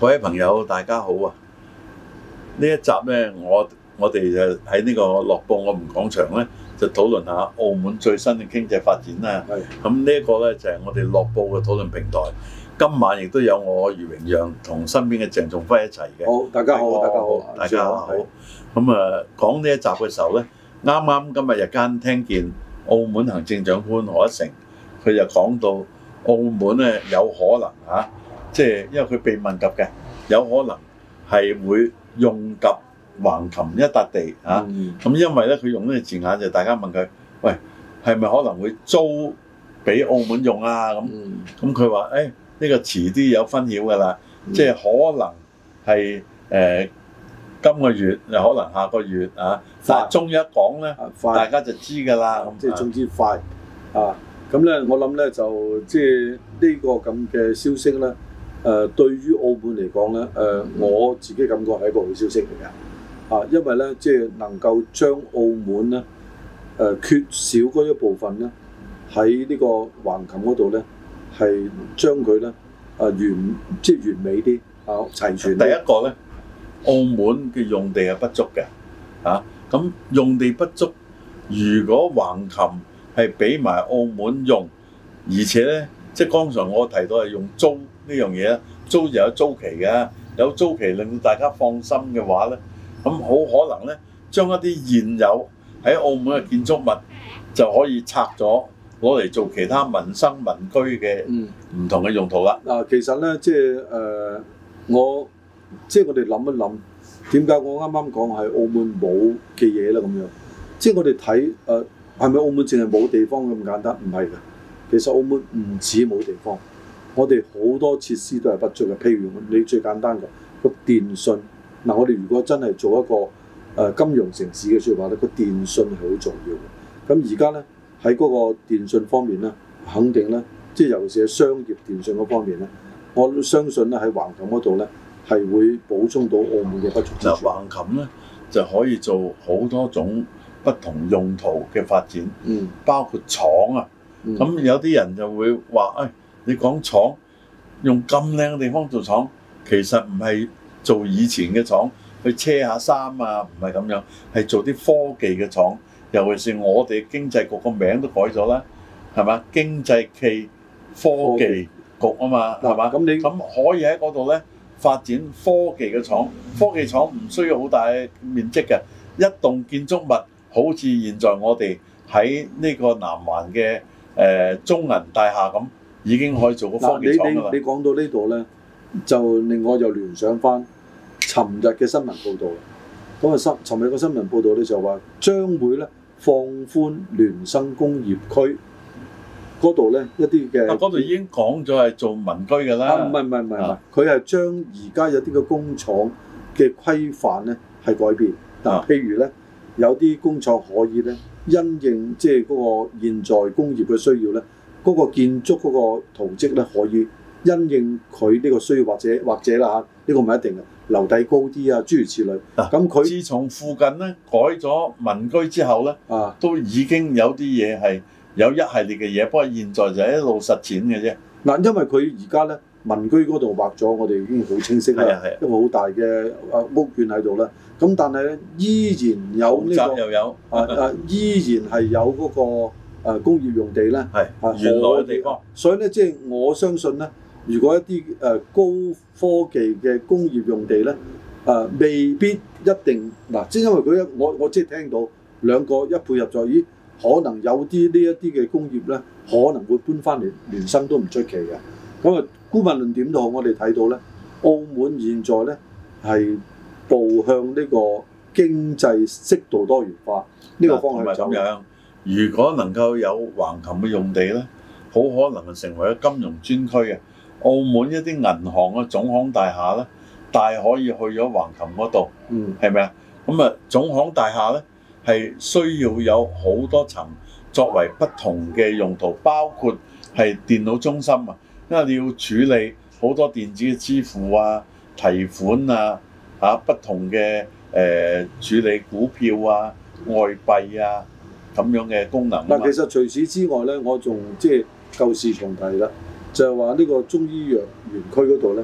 各位朋友，大家好啊！呢一集呢，我哋就喺呢個樂報我們講場呢，就討論下澳門最新嘅經濟發展啦。咁呢一個呢，就係我哋樂報嘅討論平台。今晚亦都有我余榮讓同身邊嘅鄭仲輝一齊嘅。 好，大家好，大家好， 大家好。咁啊，講呢一集嘅時候呢，啱啱今日日間聽見澳門行政長官賀一誠，佢就講到澳門呢有可能嚇。即係因為佢被問及嘅，有可能係會用及橫琴一笪地嚇。咁因為咧，佢用呢個字眼就大家問佢，喂，係咪可能會租俾澳門用啊？咁佢話誒呢個遲啲有分曉㗎啦，即係可能係今個月又可能下個月啊。但係終於一講咧，大家就知㗎啦。 即係總之快啊！咁咧，我諗咧就即係呢個咁嘅消息咧。對於澳門嚟講咧，我自己感覺係一個好消息嚟嘅，因為咧即係能夠將澳門咧缺少嗰一部分咧喺呢個橫琴嗰度咧係將佢咧完美啲齊全。 第一個咧，澳門嘅用地係不足嘅，咁用地不足，如果橫琴係俾埋澳門用，而且咧即係剛才我提到係用租。呢樣嘢咧，租就有租期嘅，有租期令到大家放心嘅話咧，咁好可能咧，將一啲現有喺澳門嘅建築物就可以拆咗，攞嚟做其他民生民居嘅唔同嘅用途啦。 其實咧，即係我哋諗一諗，點解我啱啱講係澳門冇嘅嘢咧咁樣？即係我哋睇係咪澳門淨係冇地方咁簡單？唔係嘅，其實澳門唔止冇地方。我哋好多設施都係不足嘅，譬如你最簡單嘅個電信。我哋如果真係做一個金融城市嘅説話咧，個電信係好重要嘅。咁而家咧喺嗰個電信方面咧，肯定咧，即係尤其是喺商業電信嗰方面咧，我相信咧喺橫琴嗰度咧係會補充到澳門嘅不足之處。 橫琴咧就可以做好多種不同用途嘅發展，包括廠啊。咁有啲人就會話你講廠用咁靚嘅地方做廠，其實唔係做以前嘅廠去車下衫啊，唔係咁樣，係做啲科技嘅廠。尤其是我哋經濟局個名都改咗啦，係嘛？經濟暨科技局啊嘛，係嘛？咁可以喺嗰度咧發展科技嘅廠。科技廠唔需要好大面積嘅，一棟建築物好似現在我哋喺呢個南環嘅中銀大廈咁。已經可以做個科技廠㗎啦。你講到呢度咧，就令我又聯想翻尋日嘅新聞報導。咁啊，尋日嘅新聞報導咧就話將會咧放寬聯生工業區嗰度咧一啲嘅。 嗰度已經講咗係做民居㗎啦。 唔係，佢係將而家有啲嘅工廠嘅規範咧係改變。譬如咧有啲工廠可以咧因應即係嗰個現在工業嘅需要咧。嗰個建築嗰個圖則咧，可以因應佢呢個需要，或者啦呢個唔係一定嘅，樓底高啲啊，諸如此類。咁佢自從附近咧改咗民居之後咧，都已經有啲嘢係有一系列嘅嘢，不過現在就係一路實踐嘅啫。 因為佢而家咧民居嗰度畫咗，我哋已經好清晰啦，一個好大嘅屋苑喺度啦。咁但係咧依然有呢個又有依然係有嗰個。工業用地咧係原來嘅地方， 所以咧即係我相信咧，如果一啲高科技嘅工業用地咧，未必一定即係因為我即係聽到兩個一配合咗，咦，可能有啲呢一啲嘅工業咧，可能會搬翻嚟聯生都唔出奇嘅。咁啊，姑勿論點都好，我哋睇到咧，澳門現在咧係步向呢個經濟適度多元化呢個方向走。 如果能夠有橫琴嘅用地咧，好可能成為咗金融專區嘅。澳門一啲銀行嘅總行大廈咧，大可以去咗橫琴嗰度，係咪啊？咁啊，總行大廈咧係需要有好多層作為不同嘅用途，包括係電腦中心啊，因為你要處理好多電子嘅支付啊、提款啊、不同嘅處理股票啊、外幣啊。咁樣嘅功能。 其實除此之外咧，我仲即係舊事重提啦，就係話呢個中醫藥園區嗰度咧，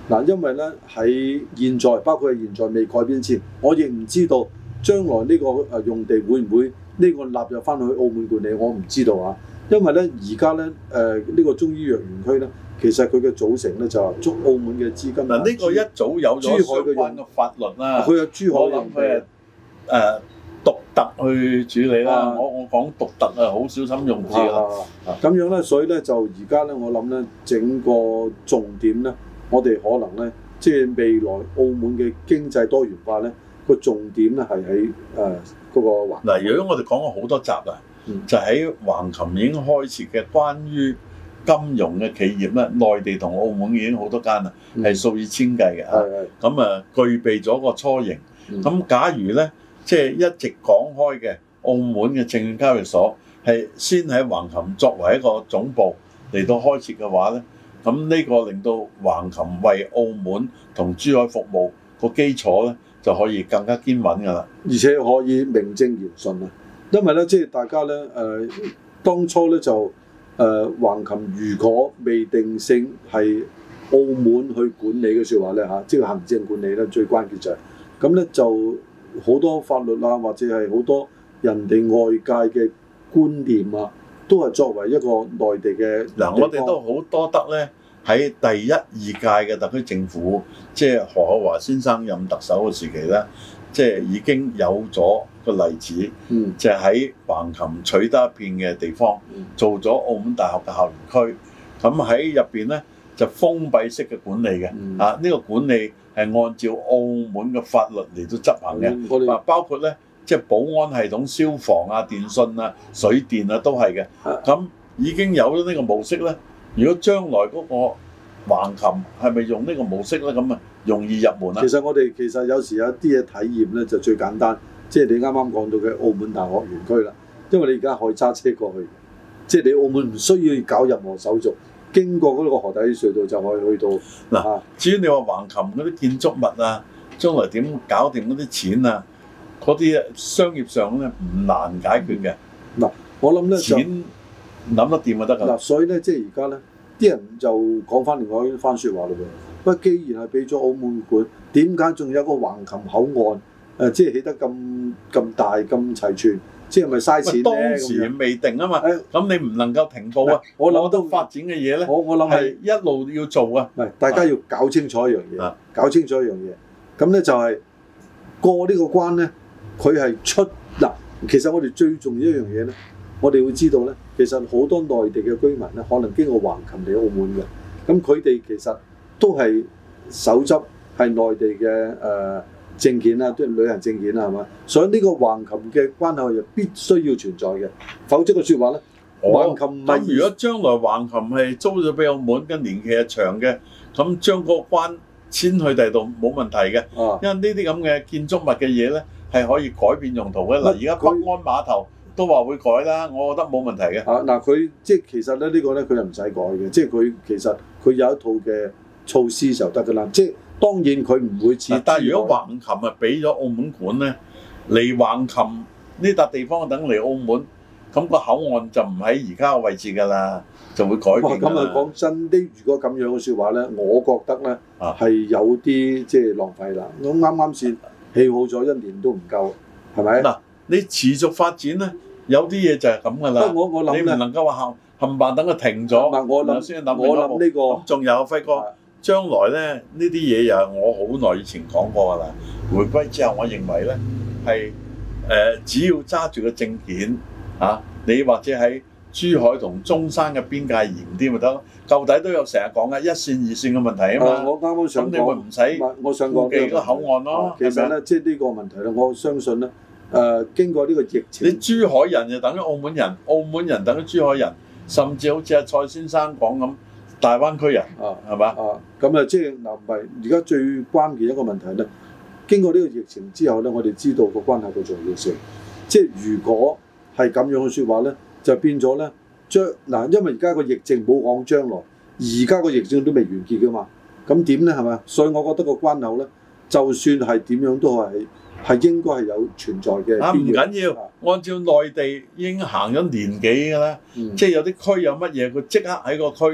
嗱，因為咧喺現在，包括係現在未改變前，我亦唔知道將來呢個用地會唔會呢個納入翻去澳門管理，我唔知道啊。因為咧而家咧呢個中醫藥園區咧，其實佢嘅組成咧就係中澳門嘅資金。嗱，呢個一早有咗相關嘅法律啦，佢有珠海用地獨特去處理啦。我講獨特啊，好小心用字啦。 咁樣咧，所以咧就而家咧，我諗咧整個重點咧，我哋可能咧，即係未來澳門嘅經濟多元化咧，個重點咧係喺嗰個環。 嗱，如果我哋講過好多集啦，就喺橫琴已經開設嘅關於金融嘅企業咧，內地同澳門已經好多間啦，係數以千計嘅嚇。咁具備咗個雛形。咁假如咧，即係一直講開嘅澳門嘅證券交易所係先喺橫琴作為一個總部嚟到開設嘅話咧，咁呢個令到橫琴為澳門同珠海服務個基礎咧就可以更加堅穩㗎啦， 而且可以名正言順啊！因為咧，即係大家咧當初咧就橫琴如果未定性係澳門去管理嘅説話咧嚇，即係行政管理咧最關鍵就係咁咧，就好多法律啊，或者係好多人哋外界嘅觀念啊，都係作為一個內地嘅嗱，我哋都好多得咧喺第一二屆嘅特區政府，即係何厚鏵先生任特首嘅時期咧，即係已經有咗個例子，就係喺橫琴取得一片嘅地方，做咗澳門大學嘅校園區，咁喺入邊咧就封閉式嘅管理嘅，呢個管理係按照澳門嘅法律嚟到執行嘅，包括咧即係保安系統、消防啊、電信啊、水電啊都係嘅，咁已經有咗呢個模式咧。如果將來嗰個橫琴係咪用呢個模式咧，咁啊容易入門啊？ 其實我哋有時有啲嘢體驗咧，就最簡單，即係你啱啱講到嘅澳門大學園區啦。因為你而家可以揸車過去，即係你澳門唔需要搞任何手續，經過嗰個河底隧道就可以去到。 嗱，至於你話橫琴嗰啲建築物啊，將來點搞掂嗰啲錢啊，嗰啲商業上咧唔難解決嘅。 嗱，我諗咧錢諗得掂就得㗎。 嗱，所以咧即係而家咧，啲人就講翻另外一番説話嘞喎。不過既然係俾咗澳門管，點解仲有個橫琴口岸？即係起得咁大咁齊全，即係咪嘥錢咧？ 當時未定啊嘛，咁你唔能夠停步啊！ 我諗到發展嘅嘢咧， 我諗係一路要做啊。 唔係，大家要搞清楚一樣嘢，搞清楚一樣嘢。咁咧就係過呢個關咧，佢係出嗱。其實我哋最重要一樣嘢咧，我哋會知道咧，其實好多內地嘅居民咧，可能經過橫琴嚟澳門嘅，咁佢哋其實都係手執係內地嘅證件啦，即係旅行證件啦，係嘛？所以呢個橫琴嘅關口係必須要存在嘅，否則嘅説話咧，橫琴唔係。 咁如果將來橫琴係租咗俾澳門，跟年期係長嘅，咁將個關遷去第度冇問題嘅，因為呢啲咁嘅建築物嘅嘢咧係可以改變用途嘅。嗱，而家北安碼頭都話會改啦，我覺得冇問題嘅。 嗱，佢即係其實咧呢個咧佢又唔使改嘅，即係佢其實佢有一套嘅措施就得㗎啦，即係。當然佢唔會似， 但係如果橫琴啊俾咗澳門管咧，嚟橫琴呢笪地方等嚟澳門，咁個口岸就唔喺而家嘅位置㗎啦，就會改變㗎啦。咁啊講真啲，如果咁樣嘅説話咧，我覺得咧係有啲即係浪費啦。我啱啱先起好咗1年都唔夠，係咪？嗱， 你持續發展咧，有啲嘢就係咁㗎啦。 我諗你唔能夠話冚唪唥等佢停咗， 我諗呢個仲有輝哥。將來咧呢啲嘢又係我好耐以前講過㗎啦。回歸之後，我認為咧係只要揸住個證件你或者喺珠海同中山嘅邊界嚴啲咪得咯。舊底都有成日講嘅1線2線嘅問題啊嘛。 我啱啱想講， 咁你咪唔使我想講記個口岸咯。 其實咧，即係呢個問題咧，我相信咧經過呢個疫情， 你珠海人就等於澳門人，澳門人等於珠海人，甚至好似阿蔡先生講咁。大灣區人係嘛？ 咁啊，即係嗱，唔係而家最關鍵一個問題咧。經過呢個疫情之後咧，我哋知道個關係嘅重要性。即係如果係咁樣嘅説話咧，就變咗咧因為而家個疫症冇講將來，而家個疫症都未完結㗎嘛。咁點咧係咪？所以我覺得個關口咧，就算係點樣都係應該係有存在嘅必要。 唔緊要，按照內地已經行咗年幾㗎啦，即係有啲區有乜嘢，佢即刻喺個區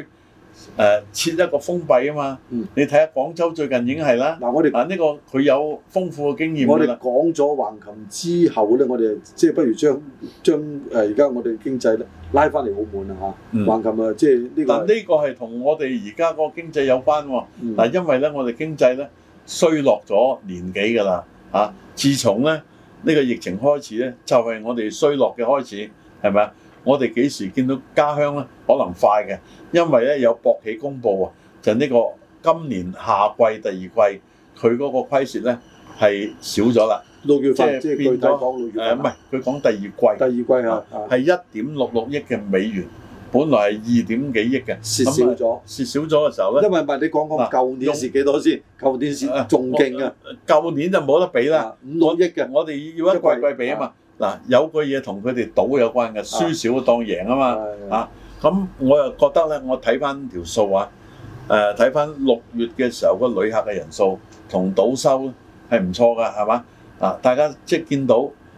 設一個封閉啊嘛。你睇下廣州最近已經係啦。 嗱，我哋呢個佢有豐富嘅經驗。 我哋講咗橫琴之後咧，我哋即係不如將而家我哋經濟咧拉翻嚟澳門啊嚇。橫琴啊，即係呢個。嗱， 呢個係同我哋而家個經濟有關喎。嗱，因為咧我哋經濟咧衰落咗年幾㗎啦嚇。自從咧呢個疫情開始咧，就係我哋衰落嘅開始，係咪啊？我哋幾時見到家鄉咧？可能快嘅，因為咧有博企公佈啊，就呢個今年夏季第二季佢嗰個虧蝕咧係少咗啦。6月份即係變咗唔係佢講第二季。第二季啊，係1.66億嘅美元，本來係2點幾億嘅，蝕少咗。蝕少咗嘅時候咧， 因為唔係你講舊年蝕幾多先？舊年蝕仲勁啊！ 舊年就冇得比啦 ，5、6億嘅。 我哋要一季季比啊嘛。嗱，有個嘢同佢哋賭有關嘅，輸少當贏啊嘛。咁我又覺得咧，我睇翻條數啊，睇翻6月嘅時候個旅客嘅人數同賭收咧係唔錯㗎，係嘛？大家即係見到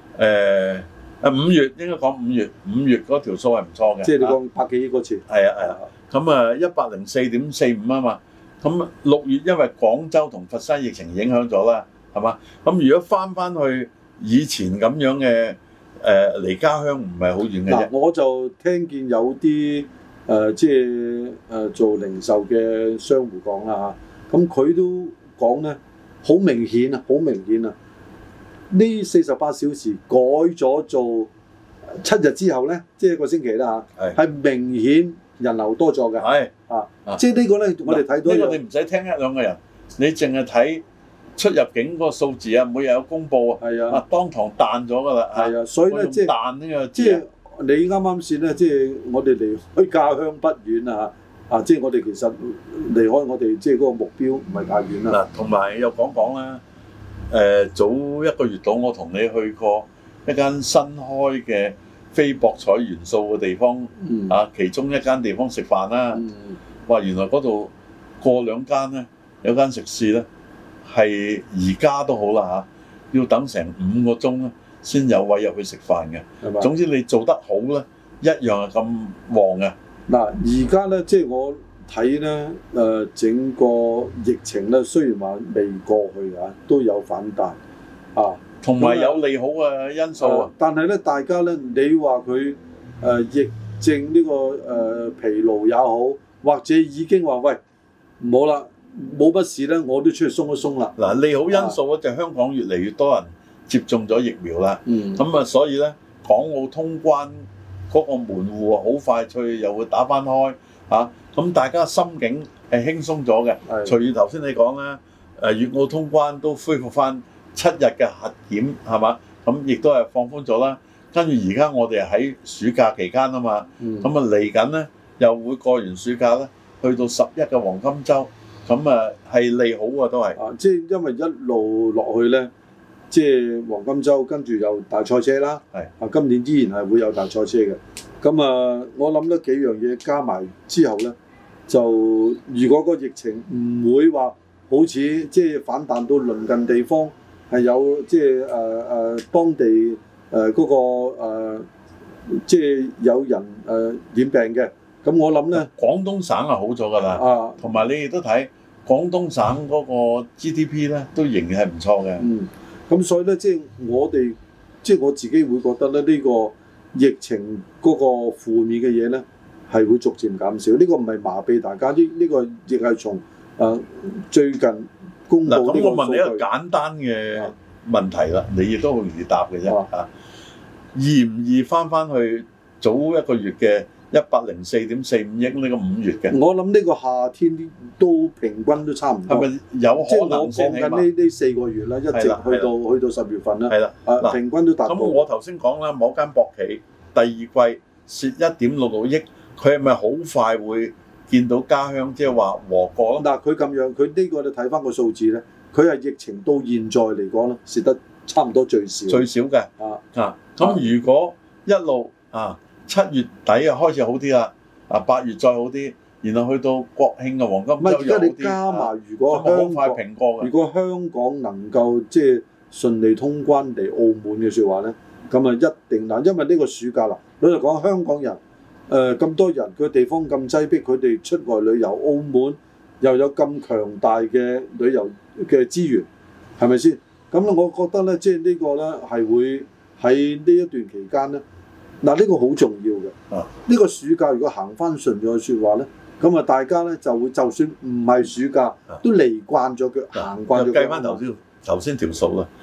5月應該講5月嗰條數係唔錯嘅。 即係你講100幾億嗰次。 係啊。咁104.45啊嘛。咁6月因為廣州同佛山疫情影響咗啦，係嘛？咁如果翻去以前咁樣嘅離家鄉唔係好遠嘅啫。 我就聽見有啲即係做零售嘅商戶講啦嚇，咁佢都講咧，好明顯啊，呢48小時改咗做7日之後咧，即係1個星期啦嚇，係明顯人流多咗嘅。係即係呢個咧，我哋睇到呢個你唔使聽1、2個人，你淨係睇出入境嗰個數字啊，每日有公佈啊，當堂彈咗㗎啦。 係啊，所以咧即係彈呢個即係你啱啱先咧，即係我哋離開家鄉不遠啊即係我哋其實離開我哋即係嗰個目標唔係太遠啦。 嗱，同埋又講啦，早1個月度我同你去過一間新開嘅非博彩元素嘅地方其中一間地方食飯啦。話原來嗰度過2間咧，有間食肆咧。係而家都好啦要等成5個鐘咧，先有位入去食飯嘅。總之你做得好咧，一樣係咁旺嘅。 嗱，而家咧即係我睇咧整個疫情咧，雖然話未過去都有反彈同埋有利好嘅因素但係咧，大家咧，你話佢疫症呢個疲勞也好，或者已經話喂唔好啦。冇乜事咧，我都出去鬆一鬆啦。 嗱，利好因素咧就香港越嚟越多人接種咗疫苗啦。咁所以咧，港澳通關嗰個門戶好快脆又會打翻開咁大家心境係輕鬆咗嘅。隨住頭先你講啦，粵澳通關都恢復翻7日嘅核檢係嘛？咁亦都係放寬咗啦。跟住而家我哋喺暑假期間啊嘛，咁嚟緊咧又會過完暑假咧，去到11嘅黃金週。咁係利好都係即係因為一路落去咧，即係黃金週跟住有大賽車啦。今年依然係會有大賽車嘅。咁我諗得幾樣嘢加埋之後咧，就如果個疫情唔會話好似即係反彈到鄰近地方係有即係當地嗰個即係有人染病嘅。咁我諗咧， 廣東省係好咗㗎啦，同埋你亦都睇廣東省嗰個 GDP 咧，都仍然係唔錯嘅。 咁所以咧，即係我自己會覺得咧，呢個疫情嗰個負面嘅嘢咧，係會逐漸減少。呢個唔係麻痹大家，呢個亦係從最近公布呢個數據。嗱，咁我問你一個簡單嘅問題啦，你亦都好容易答嘅啫。易唔易翻去早1個月嘅104.45億呢個5月嘅？我諗呢個夏天都平均都差唔多。係咪有可能先？即係我講緊呢4個月啦，一直去到10月份啦。係啦，平均都達到。咁我頭先講啦，某間博企第二季蝕1.66億，佢係咪好快會見到家鄉即係話和過咯？嗱，佢咁樣，佢呢個你睇翻個數字咧，佢係疫情到現在嚟講咧，蝕得差唔多最少。最少嘅。咁如果一路7月底開始好啲啦，8月再好啲，然後去到國慶嘅黃金週又好啲。你加埋如果好快平過嘅。如果香港能夠即係順利通關嚟澳門嘅説話咧，咁啊一定嗱，因為呢個暑假啦，老實講香港人咁多人，佢地方咁擠迫，佢哋出外旅遊，澳門又有咁強大嘅旅遊嘅資源，係咪先？咁咧，我覺得咧，即係呢個咧係會喺呢一段期間咧，嗱呢個好重要嘅。呢個暑假如果行翻順咗嘅説話咧，咁啊大家咧就會就算唔係暑假，都嚟慣咗佢行慣咗。計翻頭先條數啦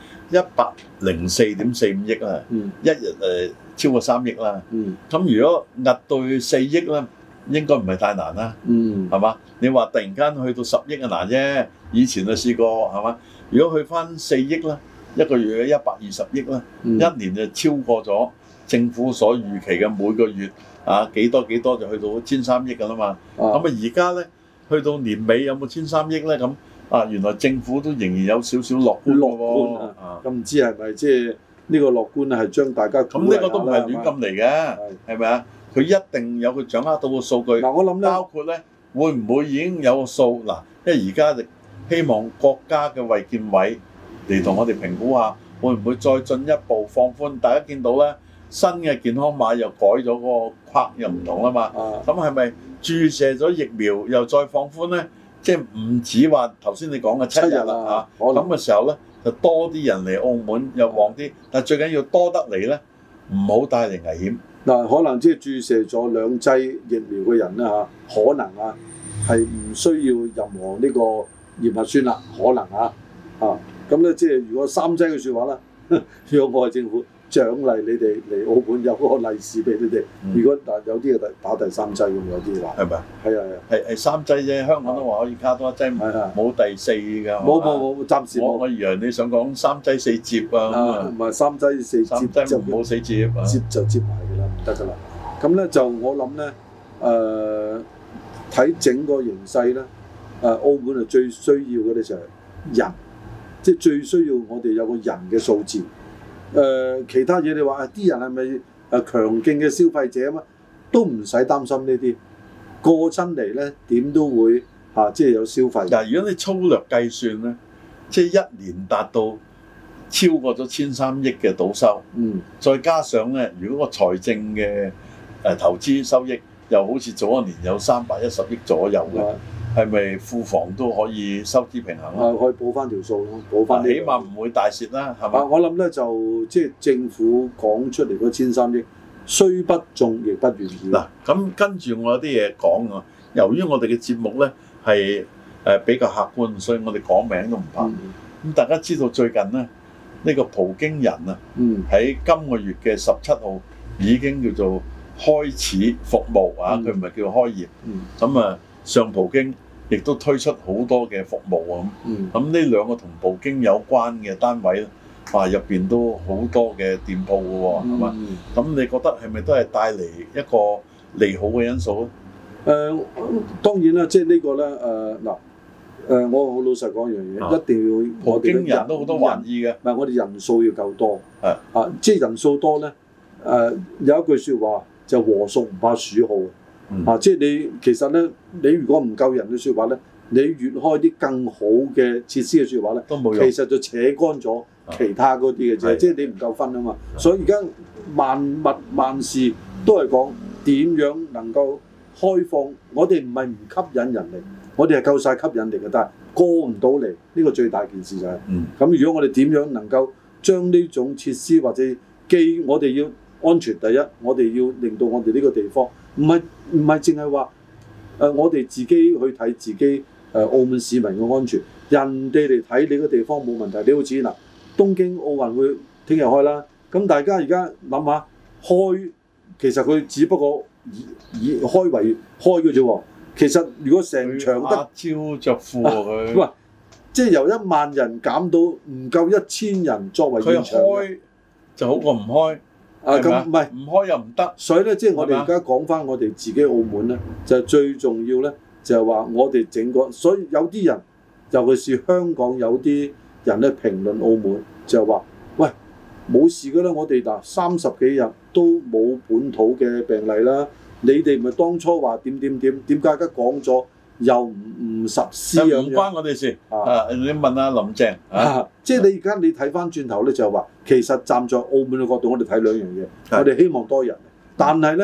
，104.45億啦，一日超過3億啦。咁如果壓到4億咧，應該唔係太難啦。係嘛？你話突然間去到10億啊難啫，以前就試過係嘛？如果去翻4億啦，一個月120億啦，一年就超過咗政府所預期嘅每個月幾多就去到1,300億㗎啦嘛。咁而家咧去到年尾有冇1,300億咧？咁原來政府都仍然有少少樂觀喎。 咁唔知係咪即係呢個樂觀係將大家咁呢個都唔係亂咁嚟嘅，係咪啊？佢一定有佢掌握到個數據。 我諗咧， 包括咧會唔會已經有個數嗱？因為而家希望國家嘅衛健委嚟同我哋評估下，會唔會再進一步放寬？大家見到咧，新嘅健康碼又改咗個框，又唔同啦嘛。咁係咪注射咗疫苗又再放寬咧？即係唔止話頭先你講嘅7日啦嚇。咁嘅時候咧，就多啲人嚟澳門又旺啲，但係最緊要多得嚟咧，唔好帶嚟危險。 嗱，可能即係注射咗2劑疫苗嘅人啦嚇，可能係唔需要任何呢個驗核酸啦，可能咁咧即係如果3劑嘅説話啦，如果我係政府獎勵你哋嚟澳門有嗰個利是俾你哋。如果有啲係打第3劑咁，有啲話係咪？係係3劑啫，香港都話可以加多1劑，冇第4㗎。 冇，暫時冇。 我以為你想講3劑4接啊。 唔係3劑4接就冇4接接就接埋㗎啦，唔得㗎啦。咁咧就我諗咧睇整個形勢咧，澳門係最需要嘅咧就係人，即係最需要我哋有個人嘅數字。其他嘢你話啲人係咪強勁嘅消費者啊嘛，都唔使擔心呢啲，過親嚟咧點都會即係有消費。 嗱，如果你粗略計算咧，即係一年達到超過咗1,300億嘅賭收，再加上咧，如果個財政嘅投資收益又好似早一年有310億左右嘅。係咪庫房都可以收支平衡啊？ 可以補翻條數咯，補翻。 起碼唔會大蝕啦，係嘛？ 我諗咧就即係政府講出嚟嗰1,300億，雖不中亦不願意。 嗱，咁跟住我有啲嘢講啊。由於我哋嘅節目咧係比較客觀，所以我哋講名都唔怕。咁大家知道最近咧呢個葡京人啊，喺今個月嘅17號已經叫做開始服務啊，佢唔係叫開業。咁上葡京亦都推出好多嘅服務啊，咁呢2個同葡京有關嘅單位咧，入邊都好多嘅店鋪嘅喎，係嘛？咁你覺得係咪都係帶嚟一個利好嘅因素咧？ 當然啦，即係呢個咧我好老實講一樣嘢，一定要葡京人都好多玩意嘅， 唔係我哋人數要夠多，即係人數多咧，有一句説話就禾熟唔怕鼠耗。即係你其實咧，你如果唔夠人嘅説話咧，你越開啲更好嘅設施嘅説話咧，都冇用。其實就扯乾咗其他嗰啲嘅啫，即係你唔夠分啊嘛。所以而家萬事都係講點樣能夠開放。我哋唔係唔吸引人嚟，我哋係夠晒吸引力嘅，但係過唔到嚟呢個最大件事就係。咁如果我哋點樣能夠將呢種設施或者我哋要安全第一，我哋要令到我哋呢個地方。唔係淨係話我哋自己去睇自己澳門市民嘅安全，人哋嚟睇你個地方冇問題。你好似嗱，東京奧運會聽日開啦，咁大家而家諗下開，其實佢只不過以開為開嘅啫喎。其實如果成場得招着褲佢， 喂，即係由1萬人減到唔夠1000人作為現場， 佢開就好過唔開。 咁唔係唔開又唔得， 所以咧，即係我哋而家講翻我哋自己澳門咧，就最重要咧，就係話我哋整個，所以有啲人，尤其是香港有啲人咧評論澳門，就係話：喂，冇事㗎啦，我哋嗱30幾日都冇本土嘅病例啦，你哋咪當初話點解而家講咗又唔實施咁樣？ 唔關我哋事你問下林鄭即係你而家你睇翻轉頭咧，就係話其實站在澳門嘅角度，我哋睇2樣嘢，我哋希望多人，但係咧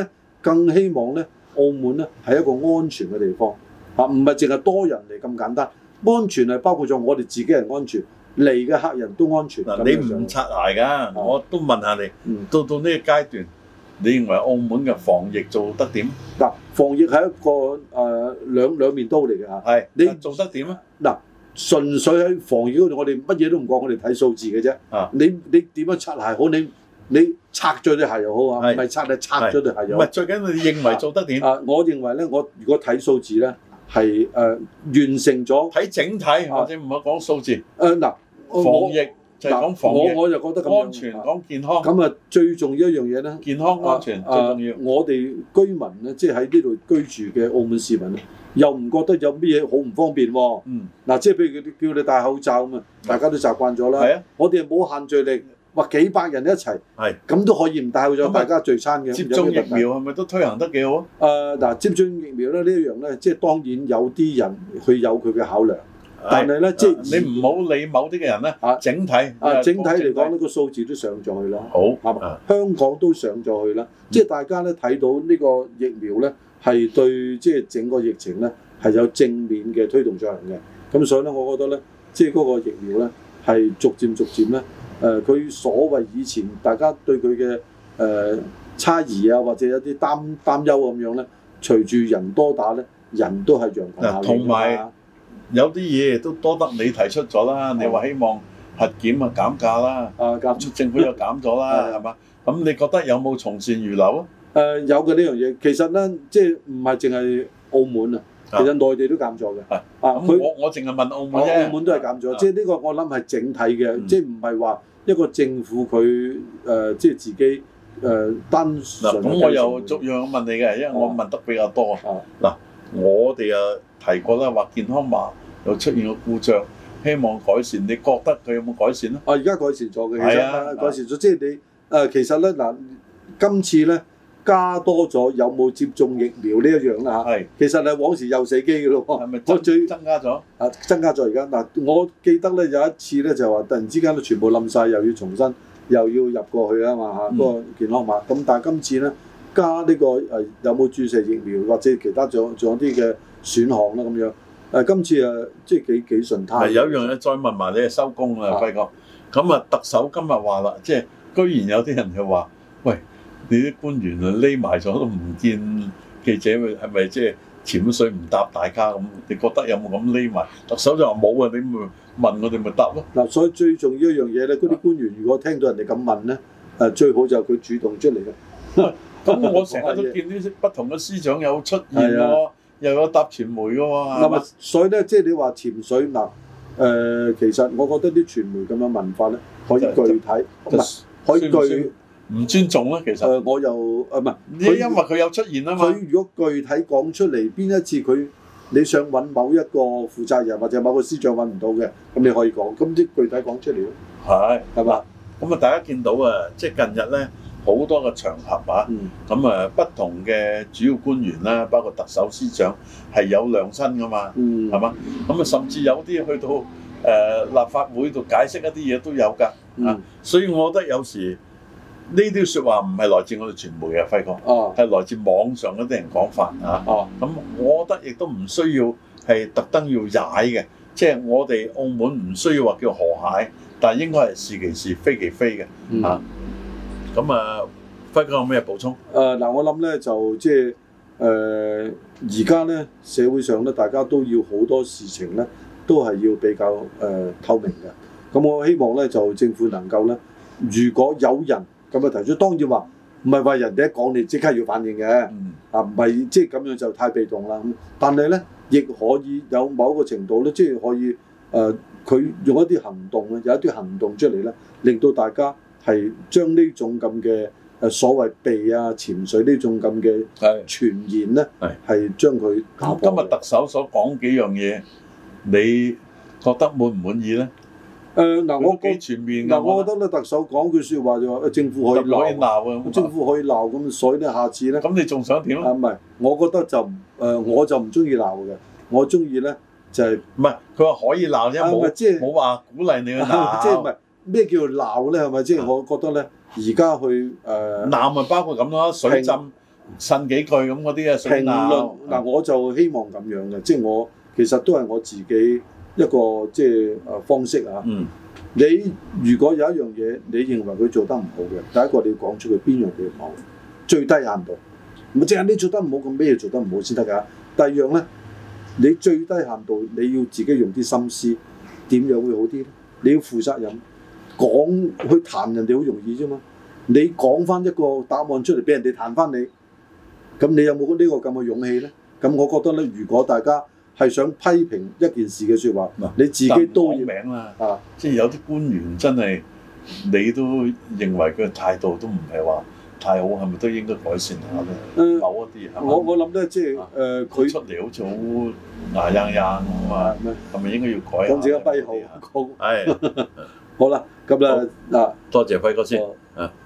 更希望咧澳門咧係一個安全嘅地方嚇，唔係淨係多人嚟咁簡單。安全係包括咗我哋自己人安全，嚟嘅客人都安全。 你唔擦鞋㗎，我都問下你，到呢個階段，你認為澳門嘅防疫做得點？ 嗱，防疫係一個兩面刀嚟嘅嚇。 係， 你做得點啊？ 嗱，純粹喺防疫嗰度，我哋乜嘢都唔講，我哋睇數字嘅啫。你點樣擦鞋好？你拆咗對鞋又好啊，唔係拆咗對鞋又好。 唔係最緊要你認為做得點？ 我認為咧，我如果睇數字咧，係完成咗。睇整體或者唔好講數字。 嗱， 防疫就係講防疫。 我就覺得咁樣安全講健康。 咁啊，最重要一樣嘢咧， 健康安全最重要。 我哋居民咧，即係喺呢度居住嘅澳門市民咧，又唔覺得有咩嘢好唔方便喎。嗱，即係譬如叫你戴口罩咁啊，大家都習慣咗啦。係啊，我哋冇限聚令。話幾百人一齊，咁都可以唔戴口罩，大家聚餐嘅。 接種疫苗係咪都推行得幾好啊？ 嗱，接種疫苗咧呢一樣咧，即係當然有啲人佢有佢嘅考量，但係咧即係你唔好理某啲嘅人咧。整體嚟講呢個數字都上咗去啦。 好， 係嘛？香港都上咗去啦。即係大家咧睇到呢個疫苗咧係對即係整個疫情咧係有正面嘅推動作用嘅。咁所以咧，我覺得咧，即係嗰個疫苗咧係逐漸咧。佢所謂以前大家對佢嘅差異啊，或者有啲擔憂咁樣咧，隨住人多打咧，人都係揚頭效應。 同埋有啲嘢都多得你提出咗啦，你話希望核檢啊減價啦，政府又減咗啦，係嘛？咁你覺得有冇從善如流啊？ 有嘅呢樣嘢，其實咧即係唔係淨係澳門啊。其實內地都減咗嘅， 我淨係問澳門啫， 澳門都係減咗，即係呢個我諗係整體嘅，即係唔係話一個政府佢即係自己單純。 咁我又逐樣問你嘅，因為我問得比較多。嗱，我哋提過啦，話健康碼又出現個故障，希望改善。你覺得佢有冇改善咧？ 而家改善咗嘅，其實改善咗，即係你其實咧嗱，今次咧。加多咗有冇接種疫苗呢一樣啦嚇，其實係往時又死機嘅咯喎， 係咪增加咗？ 增加咗而家嗱，我記得咧有一次咧就話突然之間都全部冧晒，又要重新又要入過去啊嘛嚇，嗰個健康碼。咁但係今次咧加呢個有冇注射疫苗或者其他仲有啲嘅選項啦咁樣。今次即係幾順攤。 有樣嘢再問埋你收工啦，輝哥。咁特首今日話啦，即係居然有啲人就話，喂。你啲官員匿埋咗都唔見記者，係咪即係潛水唔答大家咁？你覺得有冇咁匿埋？特首就話冇啊，你咪問我哋咪答咯。 嗱，所以最重要一樣嘢咧，嗰啲官員如果聽到人哋咁問咧，最好就係佢主動出嚟嘅。 咁我成日都見啲不同嘅司長有出現喎，又有答傳媒嘅喎。 嗱，所以咧，即係你話潛水嗱，其實我覺得啲傳媒咁樣問法咧，可以具體，可以具。 唔尊重啦，其實。 我又唔係， 因為佢有出現啊嘛。 佢如果具體講出嚟，邊一次你想揾某一個負責人或者某個司長揾唔到嘅，咁你可以講，咁啲具體講出嚟咯。係嘛？ 咁大家見到即係近日咧好多個場合啊，咁不同嘅主要官員啦，包括特首、司長係有亮身噶嘛，係嘛？咁甚至有啲去到立法會度解釋一啲嘢都有㗎，所以我覺得有時。呢啲説話唔係來自我哋傳媒嘅，輝哥，係來自網上嗰啲人講法咁我覺得亦都唔需要係特登要踩嘅，即係我哋澳門唔需要話叫河蟹，但係應該係是其是非其非嘅咁輝哥有咩補充？ 嗱，我諗咧就即係而家咧社會上咧大家都要好多事情咧都係要比較透明嘅。咁我希望咧就政府能夠咧，如果有人咁提出，當然話唔係話人哋一講你即刻要反應嘅，唔係即係咁樣就太被動啦。但係咧，亦可以有某一個程度咧，即係可以佢用一啲行動咧，有一啲行動出嚟咧，令到大家係將呢種咁嘅所謂避啊潛水呢種咁嘅傳言咧，係將佢打破。 今日特首所講幾樣嘢，你覺得滿唔滿意咧？ 我幾全面我覺得咧，特首講句説話就話，政府可以鬧，政府可以鬧咁，所以咧，下次咧， 咁你仲想點啊？ 唔係，我覺得就我就唔中意鬧嘅，我中意咧就係唔係佢話可以鬧啫，冇話鼓勵你去鬧， 即係唔係咩叫鬧咧？係咪即係我覺得咧，而家去鬧咪包括咁咯，水浸呻幾句咁嗰啲啊， 評論嗱，我就希望咁樣嘅，即係我其實都係我自己一個即係方式啊。你如果有一樣嘢你認為佢做得唔好嘅，第一個你要講出佢邊樣嘢唔好，最低限度，唔係淨係你做得唔好，咁咩嘢做得唔好先得㗎。第二樣咧，你最低限度你要自己用啲心思，點樣會好啲咧？你要負責任，講去彈人哋好容易啫嘛。你講翻一個答案出嚟俾人哋彈翻你，咁你有冇呢個咁嘅勇氣咧？咁我覺得咧，如果大家係想批評一件事嘅説話，你自己都要名啦，即係有啲官員真係你都認為佢嘅態度都唔係話太好，係咪都應該改善下咧？某一啲係嘛？我諗咧，即係佢出嚟好似好牙硬咁啊，係咪應該要改下？ 講自己跛豪， 係好啦，咁啦嗱， 多謝輝哥先啊。